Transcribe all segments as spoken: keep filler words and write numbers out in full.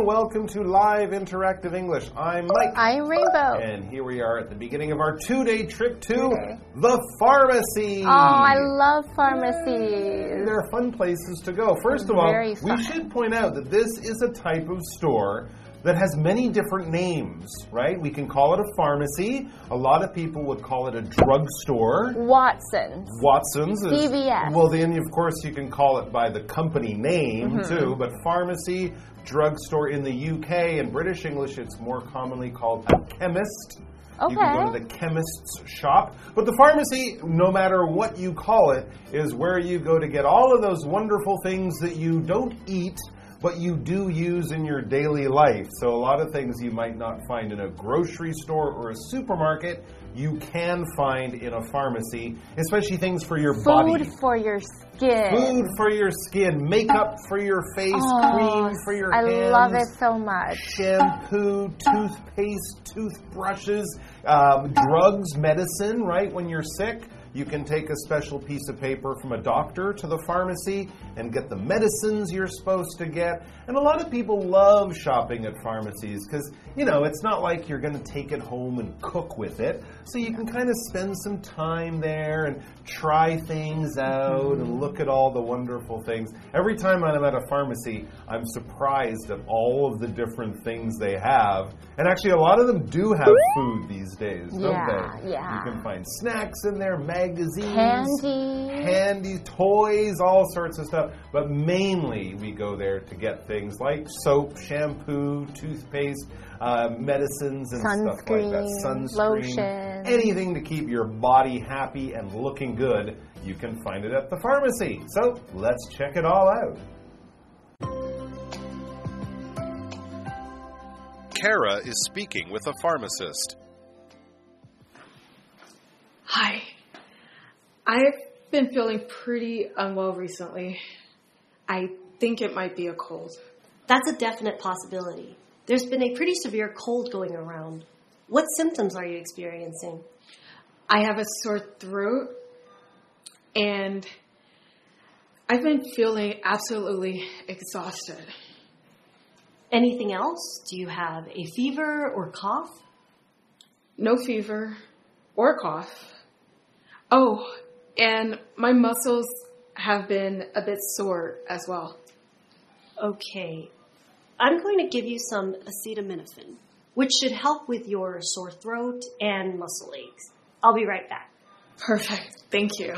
everyone. Welcome to Live Interactive English. I'm Mike. I'm Rainbow. And here we are at the beginning of our two-day trip to okay. the pharmacy. Oh, I love pharmacies. They're fun places to go. First of all, Very fun. we should point out that this is a type of store that has many different names, right? We can call it a pharmacy. A lot of people would call it a drugstore. Watson's. Watson's. Is, C V S. Well, then, of course, you can call it by the company name, mm-hmm. too. But pharmacy, drugstore in the U K, in British English, it's more commonly called a chemist. Okay. You can go to the chemist's shop. But the pharmacy, no matter what you call it, is where you go to get all of those wonderful things that you don't eat, but you do use in your daily life. So a lot of things you might not find in a grocery store or a supermarket, you can find in a pharmacy, especially things for your Food body. Food for your skin. Food for your skin. Makeup for your face. Oh, cream for your I hands. I love it so much. Shampoo, toothpaste, toothbrushes, um, drugs, medicine, right? When you're sick, you can take a special piece of paper from a doctor to the pharmacy and get the medicines you're supposed to get. And a lot of people love shopping at pharmacies because, you know, it's not like you're going to take it home and cook with it. So you can kind of spend some time there and try things out and look at all the wonderful things. Every time I'm at a pharmacy, I'm surprised at all of the different things they have. And actually, a lot of them do have food these days, don't yeah, they? Yeah. You can find snacks in there, magazines, candy, candy, toys, all sorts of stuff. But mainly, we go there to get things like soap, shampoo, toothpaste, uh, medicines, and sunscreen, stuff like that. Sunscreen, lotion, anything to keep your body happy and looking good. You can find it at the pharmacy. So let's check it all out. Kara is speaking with a pharmacist. Hi. I've been feeling pretty unwell recently. I think it might be a cold. That's a definite possibility. There's been a pretty severe cold going around. What symptoms are you experiencing? I have a sore throat, and I've been feeling absolutely exhausted. Anything else? Do you have a fever or cough? No fever or cough. Oh, and my muscles have been a bit sore as well. Okay. I'm going to give you some acetaminophen, which should help with your sore throat and muscle aches. I'll be right back. Perfect. Thank you.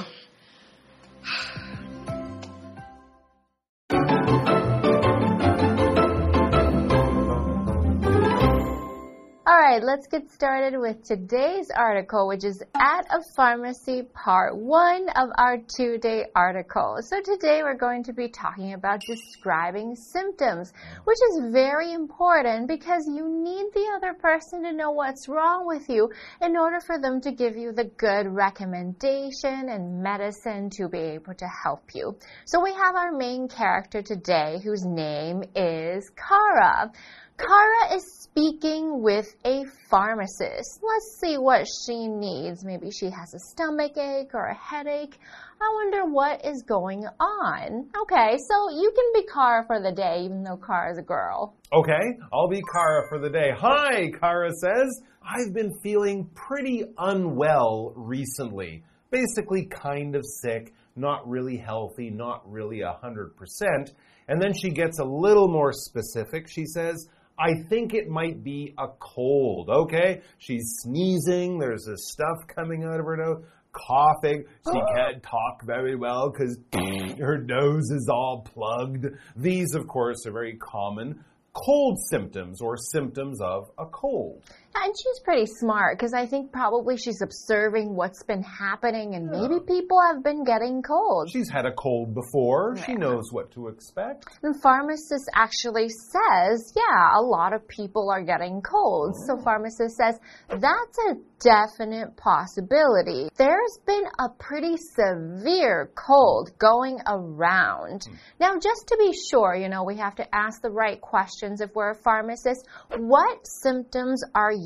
All right, let's get started with today's article, which is At a Pharmacy, part one of our two-day article. So today we're going to be talking about describing symptoms, which is very important because you need the other person to know what's wrong with you in order for them to give you the good recommendation and medicine to be able to help you. So we have our main character today, whose name is Kara. Kara is speaking with a pharmacist. Let's see what she needs. Maybe she has a stomach ache or a headache. I wonder what is going on. Okay, so you can be Kara for the day, even though Kara is a girl. Okay, I'll be Kara for the day. Hi, Kara says. I've been feeling pretty unwell recently. Basically kind of sick, not really healthy, not really one hundred percent. And then she gets a little more specific. She says, I think it might be a cold, okay? She's sneezing, there's this stuff coming out of her nose, coughing. She can't talk very well because her nose is all plugged. These, of course, are very common cold symptoms or symptoms of a cold. And she's pretty smart because I think probably she's observing what's been happening and Yeah. maybe people have been getting colds. She's had a cold before. Yeah. She knows what to expect. The pharmacist actually says, yeah, a lot of people are getting colds. Oh. So pharmacist says, that's a definite possibility. There's been a pretty severe cold going around. Mm. Now, just to be sure, you know, we have to ask the right questions if we're a pharmacist. What symptoms are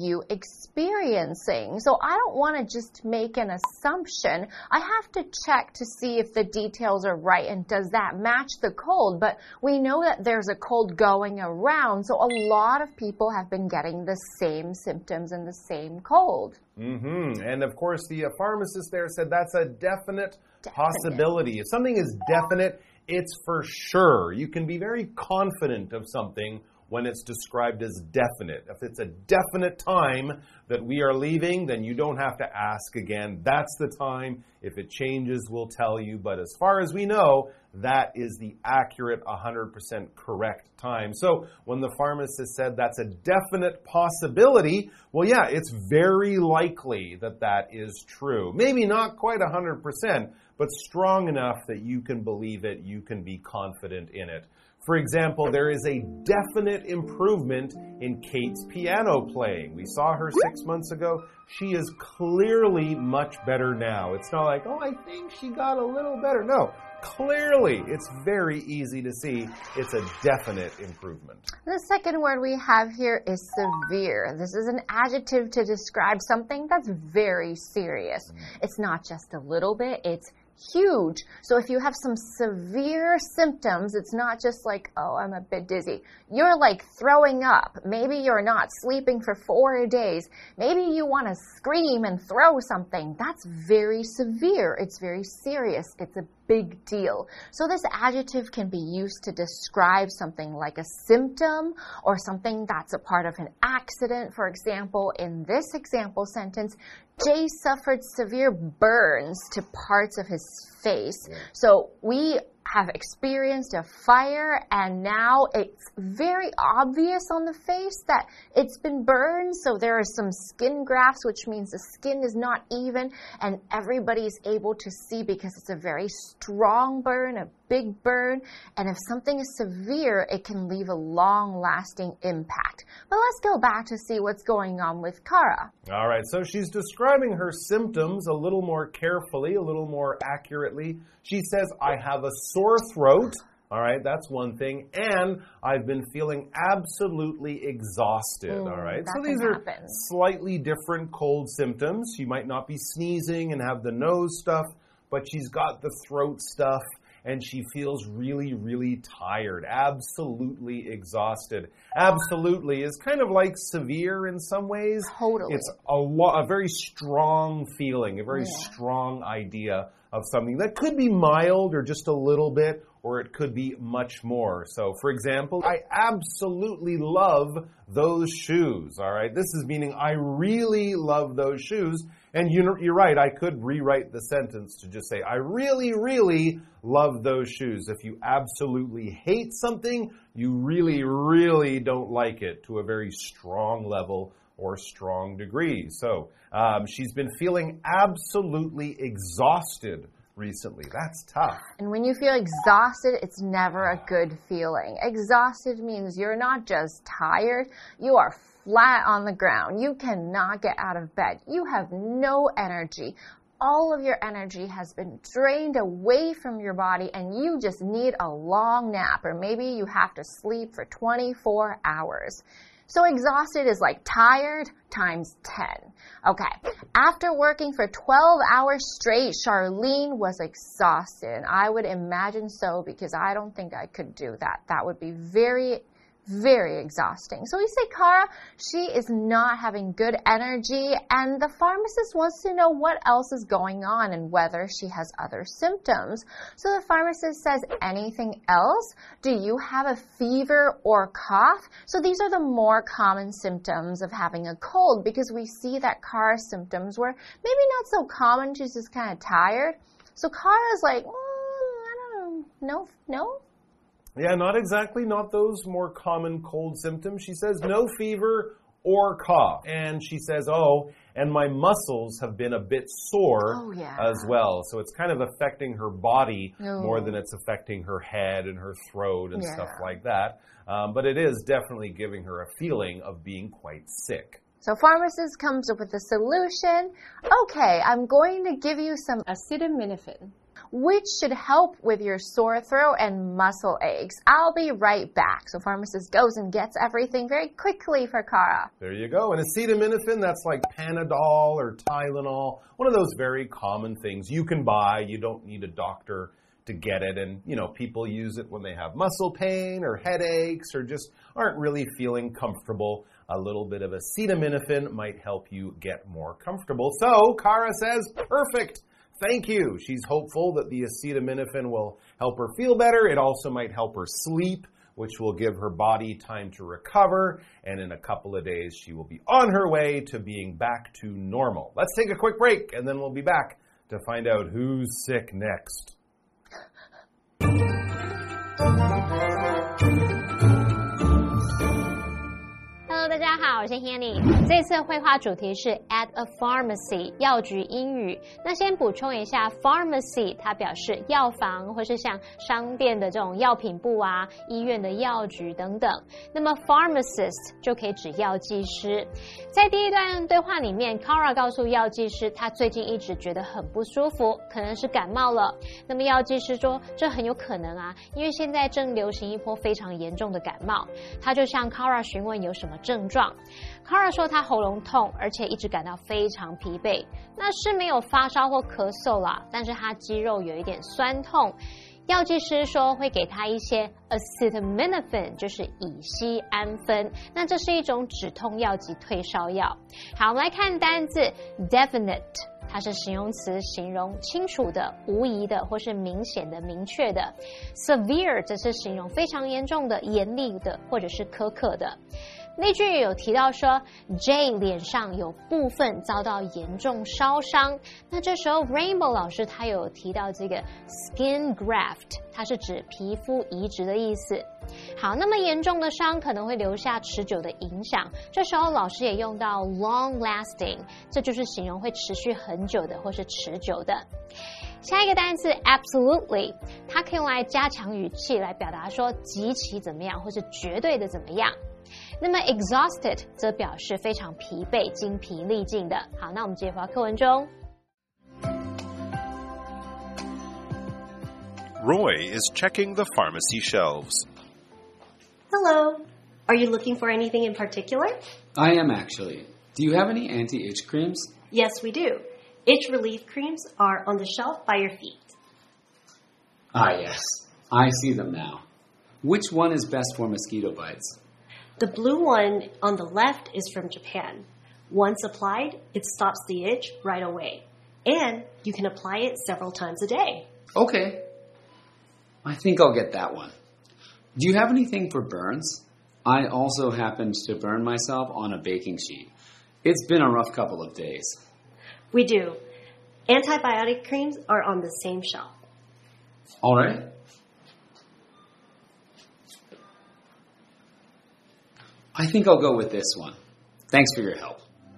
you experiencing? So I don't want to just make an assumption. I have to check to see if the details are right and does that match the cold. But we know that there's a cold going around, so a lot of people have been getting the same symptoms and the same cold. Mm-hmm. And of course, the uh, pharmacist there said that's a definite, Definite. possibility. If something is definite, it's for sure. You can be very confident of something when it's described as definite. If it's a definite time that we are leaving, then you don't have to ask again. That's the time. If it changes, we'll tell you. But as far as we know, that is the accurate, one hundred percent correct time. So when the pharmacist said that's a definite possibility, well, yeah, it's very likely that that is true. Maybe not quite one hundred percent, but strong enough that you can believe it, you can be confident in it. For example, there is a definite improvement in Kate's piano playing. We saw her six months ago. She is clearly much better now. It's not like, oh, I think she got a little better. No, clearly, it's very easy to see it's a definite improvement. The second word we have here is severe. This is an adjective to describe something that's very serious. It's not just a little bit, it's huge. So if you have some severe symptoms, it's not just like, oh, I'm a bit dizzy. You're like throwing up. Maybe you're not sleeping for four days. Maybe you want to scream and throw something. That's very severe. It's very serious. It's a big deal. So this adjective can be used to describe something like a symptom or something that's a part of an accident. For example, in this example sentence, Jay suffered severe burns to parts of his face. Yeah. So we have experienced a fire and now it's very obvious on the face that it's been burned. So there are some skin grafts, which means the skin is not even and everybody's able to see because it's a very strong burn, a big burn. And if something is severe, it can leave a long-lasting impact. But let's go back to see what's going on with Kara. All right, so she's describing her symptoms a little more carefully, a little more accurately. She says, I have a sore throat. All right, that's one thing. And I've been feeling absolutely exhausted. Mm, all right, so these are slightly different cold symptoms. She might not be sneezing and have the nose stuff, but she's got the throat stuff. And she feels really, really tired, absolutely exhausted. Absolutely is kind of like severe in some ways. Totally. It's a, lo- a very strong feeling, a very yeah. strong idea of something that could be mild or just a little bit, or it could be much more. So, for example, I absolutely love those shoes, all right? This is meaning I really love those shoes. And you, you're right, I could rewrite the sentence to just say, I really, really love those shoes. If you absolutely hate something, you really, really don't like it to a very strong level or strong degree. So um, she's been feeling absolutely exhausted recently. That's tough. And when you feel exhausted, it's never a good feeling. Exhausted means you're not just tired, you are flat on the ground. You cannot get out of bed. You have no energy. All of your energy has been drained away from your body and you just need a long nap, or maybe you have to sleep for twenty-four hours. So exhausted is like tired times ten. Okay, after working for twelve hours straight, Charlene was exhausted. I would imagine so because I don't think I could do that. That would be very Very exhausting. So we say Kara, she is not having good energy, and the pharmacist wants to know what else is going on and whether she has other symptoms. So the pharmacist says, anything else? Do you have a fever or cough? So these are the more common symptoms of having a cold, because we see that Kara's symptoms were maybe not so common, she's just kind of tired. So Kara's like, mm, I don't know, no, no? Yeah, not exactly, not those more common cold symptoms. She says no fever or cough. And she says, oh, and my muscles have been a bit sore oh, yeah. as well. So it's kind of affecting her body oh. more than it's affecting her head and her throat and yeah. stuff like that. Um, but it is definitely giving her a feeling of being quite sick. So pharmacist comes up with a solution. Okay, I'm going to give you some acetaminophen, which should help with your sore throat and muscle aches. I'll be right back. So pharmacist goes and gets everything very quickly for Kara. There you go. And acetaminophen, that's like Panadol or Tylenol, one of those very common things you can buy. You don't need a doctor to get it. And, you know, people use it when they have muscle pain or headaches or just aren't really feeling comfortable. A little bit of acetaminophen might help you get more comfortable. So Kara says, perfect. Thank you. She's hopeful that the acetaminophen will help her feel better. It also might help her sleep, which will give her body time to recover. And in a couple of days, she will be on her way to being back to normal. Let's take a quick break, and then we'll be back to find out who's sick next. Hello， 大家好，我是 Hanny。这次绘画主题是 at a pharmacy 药局英语。那先補充一下 ，pharmacy 它表示藥房或是像商店的這種藥品部啊、醫院的藥局等等。那麼 pharmacist 就可以指藥劑師。在第一段對話裡面 ，Kara 告訴藥劑師，他最近一直覺得很不舒服，可能是感冒了。那麼藥劑師說，這很有可能啊，因為現在正流行一波非常嚴重的感冒。他就向 Kara 詢問有什麼症狀。Kara 說他喉嚨痛，而且一直感到非常疲憊。那是沒有發燒或咳嗽啦，但是他肌肉有一點酸痛。藥劑師說會給他一些 acetaminophen， 就是乙醯胺酚。那這是一種止痛藥及退燒藥。好，我們來看單字 definite。它是形容詞，形容清楚的、無疑的，或是明顯的、明確的。Severe 則是形容非常嚴重的、嚴厲的，或者是苛刻的。那句有提到說 J 臉上有部分遭到嚴重燒傷，那這時候 Rainbow 老師他有提到這個 skin graft， 它是指皮膚移植的意思。好，那麼嚴重的傷可能會留下持久的影響，這時候老師也用到 long lasting， 這就是形容會持續很久的或是持久的。下一個單詞 absolutely， 它可以用來加強語氣來表達說極其怎麼樣或是絕對的怎麼樣。那麼 exhausted 則表示非常疲憊、精疲力盡的。好，那我們接回到課文中。 Roy is checking the pharmacy shelves. Hello. Are you looking for anything in particular? I am actually. Do you have any anti-itch creams? Yes, we do. Itch relief creams are on the shelf by your feet. Ah, yes. I see them now. Which one is best for mosquito bites? The blue one on the left is from Japan. Once applied, it stops the itch right away. And you can apply it several times a day. Okay. I think I'll get that one. Do you have anything for burns? I also happened to burn myself on a baking sheet. It's been a rough couple of days. We do. Antibiotic creams are on the same shelf. All right. I think I'll go with this one. Thanks for your help.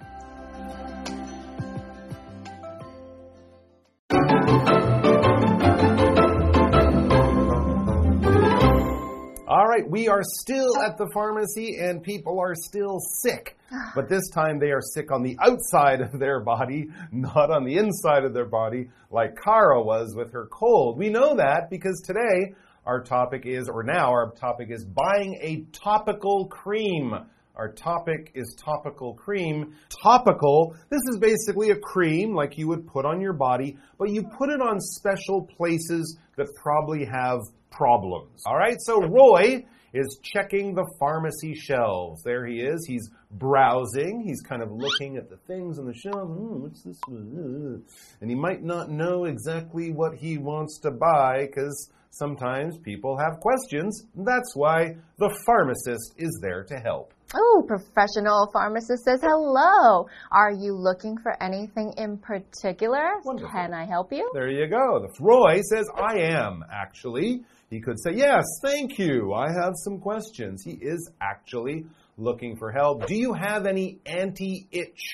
All right, we are still at the pharmacy and people are still sick. But this time they are sick on the outside of their body, not on the inside of their body, like Kara was with her cold. We know that because today our topic is, or now our topic is buying a topical cream. Our topic is topical cream. Topical, this is basically a cream like you would put on your body, but you put it on special places that probably have problems. All right, so Roy is checking the pharmacy shelves. There he is. He's browsing. He's kind of looking at the things on the shelf. Hmm, what's this one? And he might not know exactly what he wants to buy because sometimes people have questions. That's why the pharmacist is there to help. Oh, professional pharmacist says hello. Are you looking for anything in particular? Wonderful. Can I help you? There you go. Roy says, I am, actually. He could say, yes, thank you. I have some questions. He is actually looking for help. Do you have any anti-itch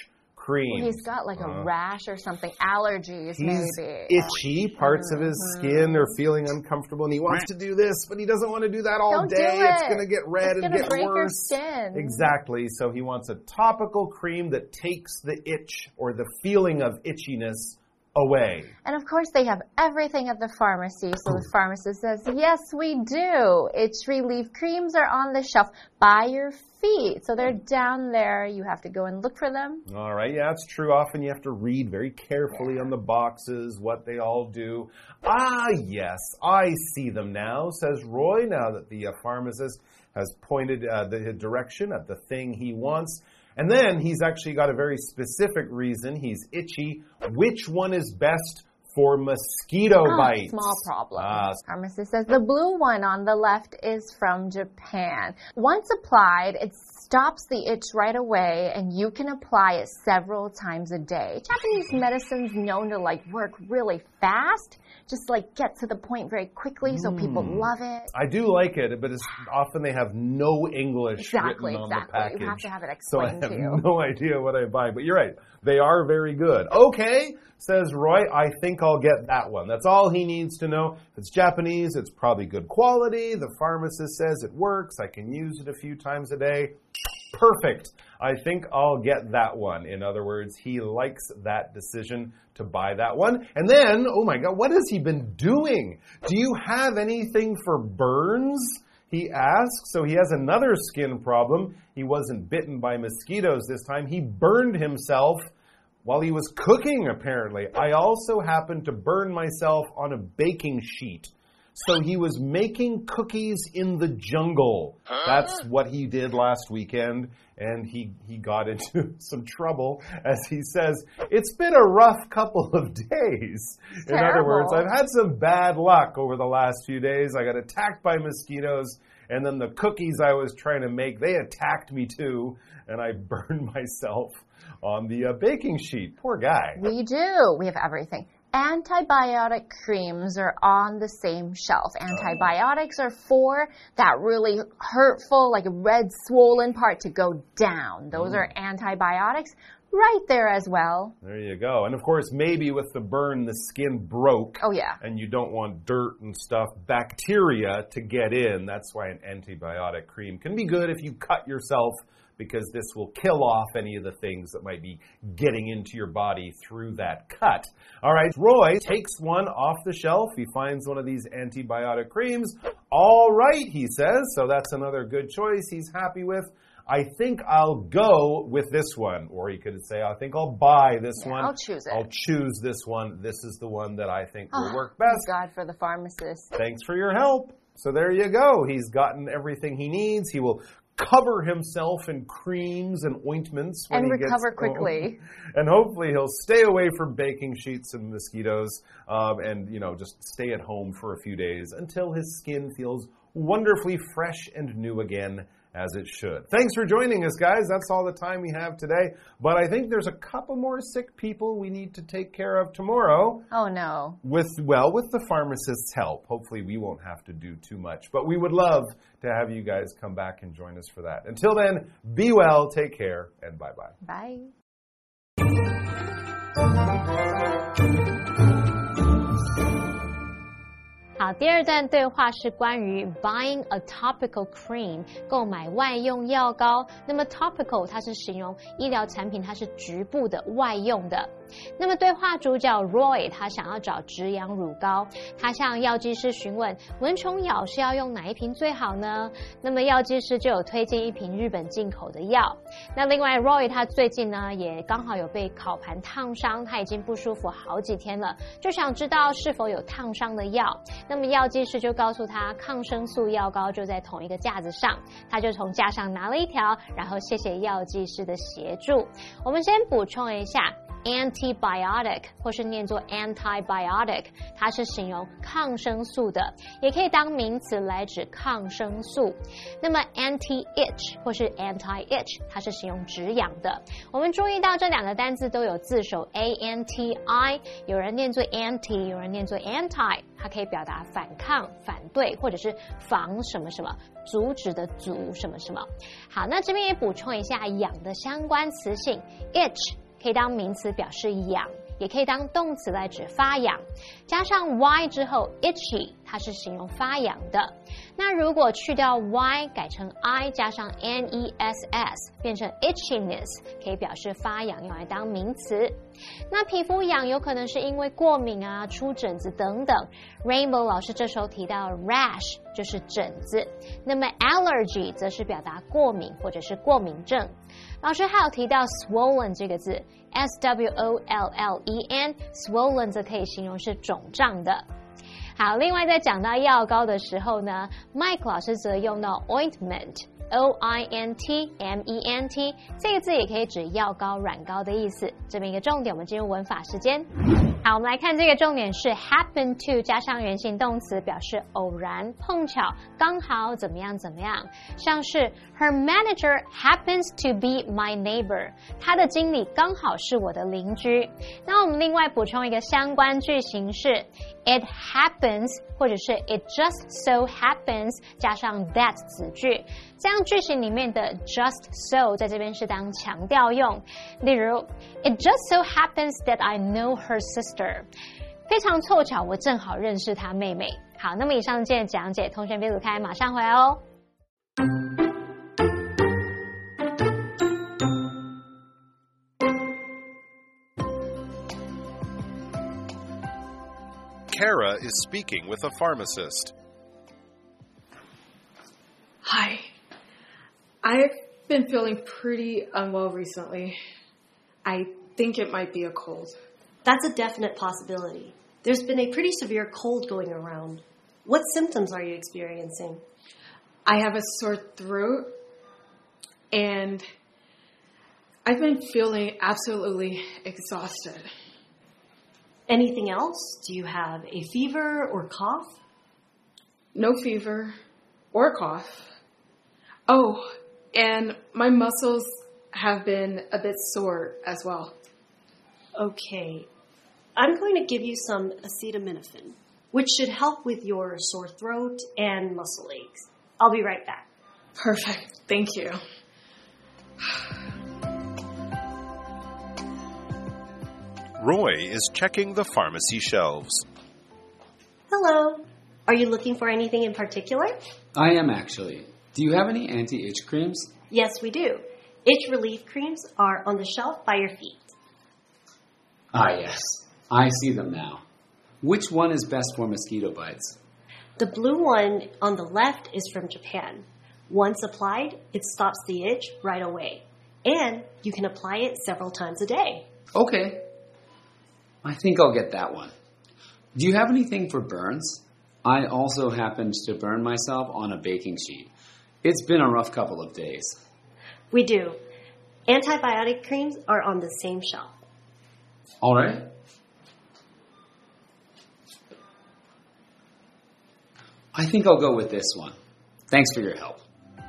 cream. He's got like a uh, rash or something, allergies he's maybe. itchy, parts mm-hmm. of his skin are feeling uncomfortable, and he wants to do this, but he doesn't want to do that all Don't day. Do it. It's going to get red it's and get break worse. Your skin. Exactly. So he wants a topical cream that takes the itch or the feeling of itchiness away. And of course, they have everything at the pharmacy. So the pharmacist says, yes, we do. Itch relief creams are on the shelf by your feet. So they're down there. You have to go and look for them. All right. Yeah, it's true. Often you have to read very carefully yeah. on the boxes what they all do. Ah, yes, I see them now, says Roy, now that the uh, pharmacist has pointed uh, the direction at the thing he wants. And then he's actually got a very specific reason. He's itchy. Which one is best for mosquito oh, bites? Small problem. Uh, Pharmacist says the blue one on the left is from Japan. Once applied, it stops the itch right away, and you can apply it several times a day. Japanese medicine's known to like work really fast, just like get to the point very quickly, so mm. people love it. I do like it, but it's often they have no English exactly, written on exactly. the package. You have to have it explained to you. So I have to no idea what I buy, but you're right. They are very good. Okay, says Roy, I think I'll get that one. That's all he needs to know. If it's Japanese, it's probably good quality. The pharmacist says it works. I can use it a few times a day. Perfect. I think I'll get that one. In other words, he likes that decision to buy that one. And then, oh my God, what has he been doing? Do you have anything for burns? He asks. So he has another skin problem. He wasn't bitten by mosquitoes this time. He burned himself while he was cooking, apparently. I also happened to burn myself on a baking sheet. So he was making cookies in the jungle. That's what he did last weekend, and he, he got into some trouble. As he says, it's been a rough couple of days. In other words, I've had some bad luck over the last few days. I got attacked by mosquitoes, and then the cookies I was trying to make, they attacked me too, and I burned myself on the uh, baking sheet. Poor guy. We do. We have everything. Antibiotic creams are on the same shelf. Antibiotics are for that really hurtful, like red swollen part to go down. Those mm. are antibiotics right there as well. There you go. And of course, maybe with the burn, the skin broke. Oh, yeah. And you don't want dirt and stuff, bacteria to get in. That's why an antibiotic cream can be good if you cut yourself, because this will kill off any of the things that might be getting into your body through that cut. All right, Roy takes one off the shelf. He finds one of these antibiotic creams. All right, he says, so that's another good choice he's happy with. I think I'll go with this one. Or he could say, I think I'll buy this yeah, one. I'll choose it. I'll choose this one. This is the one that I think will oh, work best. Thank God for the pharmacist. Thanks for your help. So there you go. He's gotten everything he needs. He will cover himself in creams and ointments when and he recover gets quickly. Home. And hopefully he'll stay away from baking sheets and mosquitoes, um, and you know just stay at home for a few days until his skin feels wonderfully fresh and new again, as it should. Thanks for joining us, guys. That's all the time we have today. But I think there's a couple more sick people we need to take care of tomorrow. Oh, no. With, well, with the pharmacist's help. Hopefully we won't have to do too much. But we would love to have you guys come back and join us for that. Until then, be well, take care, and bye-bye. Bye. Bye. 好，第二段对话是关于 buying a topical cream 购買外用藥膏。那麼 topical 它是形容醫療產品，它是局部的外用的。那麼對話主角 Roy 他想要找止癢乳膏，他向藥劑師詢問蚊蟲咬是要用哪一瓶最好呢？那麼藥劑師就有推薦一瓶日本進口的藥。那另外 Roy 他最近呢也剛好有被烤盤燙傷，他已經不舒服好幾天了，就想知道是否有燙傷的藥。那麼藥劑師就告訴他抗生素藥膏就在同一個架子上，他就從架上拿了一條，然後謝謝藥劑師的協助。我們先補充一下antibiotic 或是念作 antibiotic， 它是形容抗生素的，也可以当名詞來指抗生素。那麼 anti-itch 或是 anti-itch 它是形容止癢的。我們注意到這兩個單字都有字首 A N T I， 有人念作 anti， 有人念作 anti， 它可以表達反抗、反對或者是防什麼什麼，阻止的阻什麼什麼。好，那這邊也補充一下癢的相關詞性 itch 可以当名詞表示癢，也可以當動詞來指發癢。加上 y 之後 itchy， 它是形容發癢的。那如果去掉 y 改成 i 加上 ness 變成 itchiness， 可以表示發癢，用來當名詞。那皮膚癢有可能是因為過敏啊、出疹子等等。Rainbow 老師這時候提到 rash 就是疹子，那麼 allergy 則是表達過敏或者是過敏症。老師還有提到 swollen 這個字 S W O L L E N， swollen 則可以形容是腫脹的。好，另外在講到藥膏的時候呢 Mike 老師則用到 ointment O I N T M E N T 這個字也可以指藥膏、軟膏的意思。這邊一個重點，我們進入文法時間。好，我們來看這個重點是 happen to 加上原形動詞，表示偶然、碰巧、剛好怎麼樣怎麼樣。像是 Her manager happens to be my neighbor， 她的經理剛好是我的鄰居。那我們另外補充一個相關句型是 It happens 或者是 It just so happens 加上 that 子句，這樣句型裡面的 just so 在這邊是當強調用。例如 It just so happens that I know her sister， 非常湊巧我正好認識她妹妹。好，那麼以上今天的講解，同學別走開，馬上回來哦。 Kara is speaking with a pharmacist. Hi. I've been feeling pretty unwell recently. I think it might be a cold. That's a definite possibility. There's been a pretty severe cold going around. What symptoms are you experiencing? I have a sore throat, and I've been feeling absolutely exhausted. Anything else? Do you have a fever or cough? No fever or cough. Oh, and my muscles have been a bit sore as well. Okay. I'm going to give you some acetaminophen, which should help with your sore throat and muscle aches. I'll be right back. Perfect. Thank you. Roy is checking the pharmacy shelves. Hello. Are you looking for anything in particular? I am actually. Do you have any anti-itch creams? Yes, we do. Itch relief creams are on the shelf by your feet. Ah, yes. I see them now. Which one is best for mosquito bites? The blue one on the left is from Japan. Once applied, it stops the itch right away. And you can apply it several times a day. Okay. I think I'll get that one. Do you have anything for burns? I also happened to burn myself on a baking sheet. It's been a rough couple of days. We do. Antibiotic creams are on the same shelf. All right. I think I'll go with this one. Thanks for your help.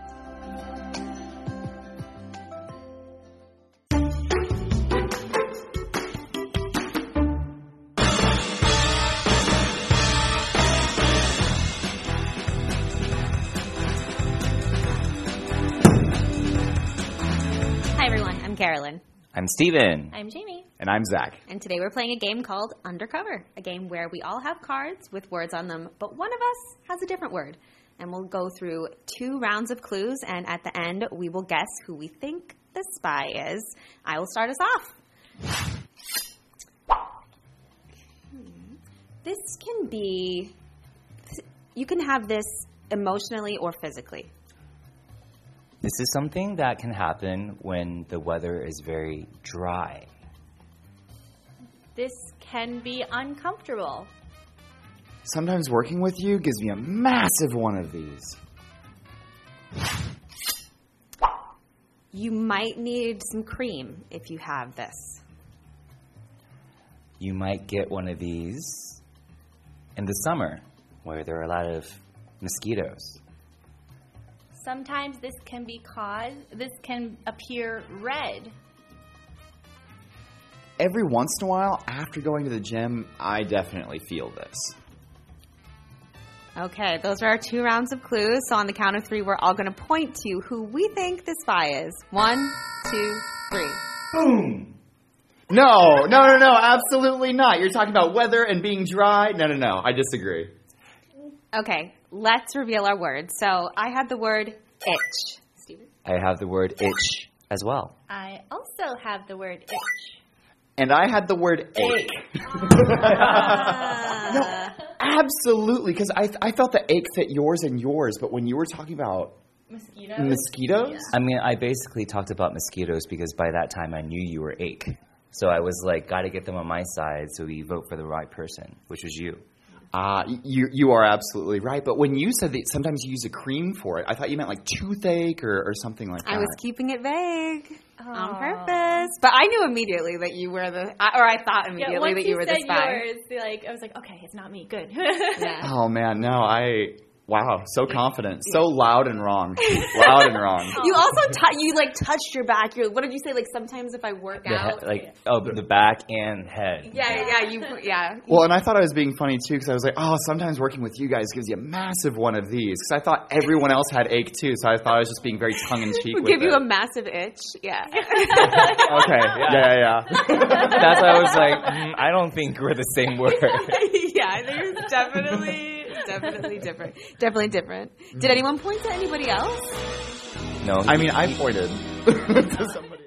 Carolyn. I'm Steven. I'm Jamie. And I'm Zach. And today we're playing a game called Undercover, a game where we all have cards with words on them, but one of us has a different word. And we'll go through two rounds of clues, and at the end, we will guess who we think the spy is. I will start us off. This can be, you can have this emotionally or physically. This is something that can happen when the weather is very dry. This can be uncomfortable. Sometimes working with you gives me a massive one of these. You might need some cream if you have this. You might get one of these in the summer where there are a lot of mosquitoes. Sometimes this can be caused, this can appear red. Every once in a while, after going to the gym, I definitely feel this. Okay, those are our two rounds of clues. So on the count of three, we're all going to point to who we think the spy is. One, two, three. Boom! No, no, no, no, absolutely not. You're talking about weather and being dry. No, no, no. I disagree. Okay, let's reveal our words. So I had the word itch. Steven? I have the word itch as well. I also have the word itch. And I had the word ache. No, absolutely, because I, I felt the ache fit yours and yours, but when you were talking about Mosquitoes? mosquitoes? Yeah. I mean, I basically talked about mosquitoes because by that time I knew you were ache. So I was like, got to get them on my side so we vote for the right person, which was you. Ah, uh, you you are absolutely right. But when you said that sometimes you use a cream for it, I thought you meant like toothache or, or something like that. I was keeping it vague oh. on purpose. But I knew immediately that you were the, or I thought immediately yeah, that you, you were the spy. Yours, like, I was like, okay, it's not me. Good. Yeah. Oh, man, no, I... Wow, so confident, so loud and wrong, loud and wrong. You also t- you like touched your back. You're, what did you say? Like sometimes if I work the out, he- like oh, the back and head. Yeah, yeah, yeah, you, yeah. Well, and I thought I was being funny too because I was like, oh, sometimes working with you guys gives you a massive one of these because I thought everyone else had ache too, so I thought I was just being very tongue in cheek. Would with give you it. a massive itch. Yeah. Okay. Yeah, yeah, yeah. That's why I was like, mm, I don't think we're the same word. Yeah, I think it's definitely. Definitely different. Definitely different. Did anyone point to anybody else? No. I mean, I pointed to somebody.